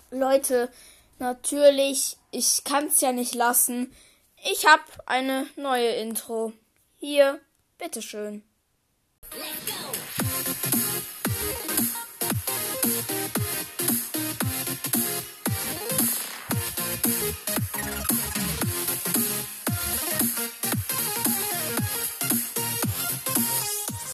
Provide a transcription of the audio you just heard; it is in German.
Leute, natürlich, ich kann's ja nicht lassen. Ich hab eine neue Intro. Hier, bitteschön.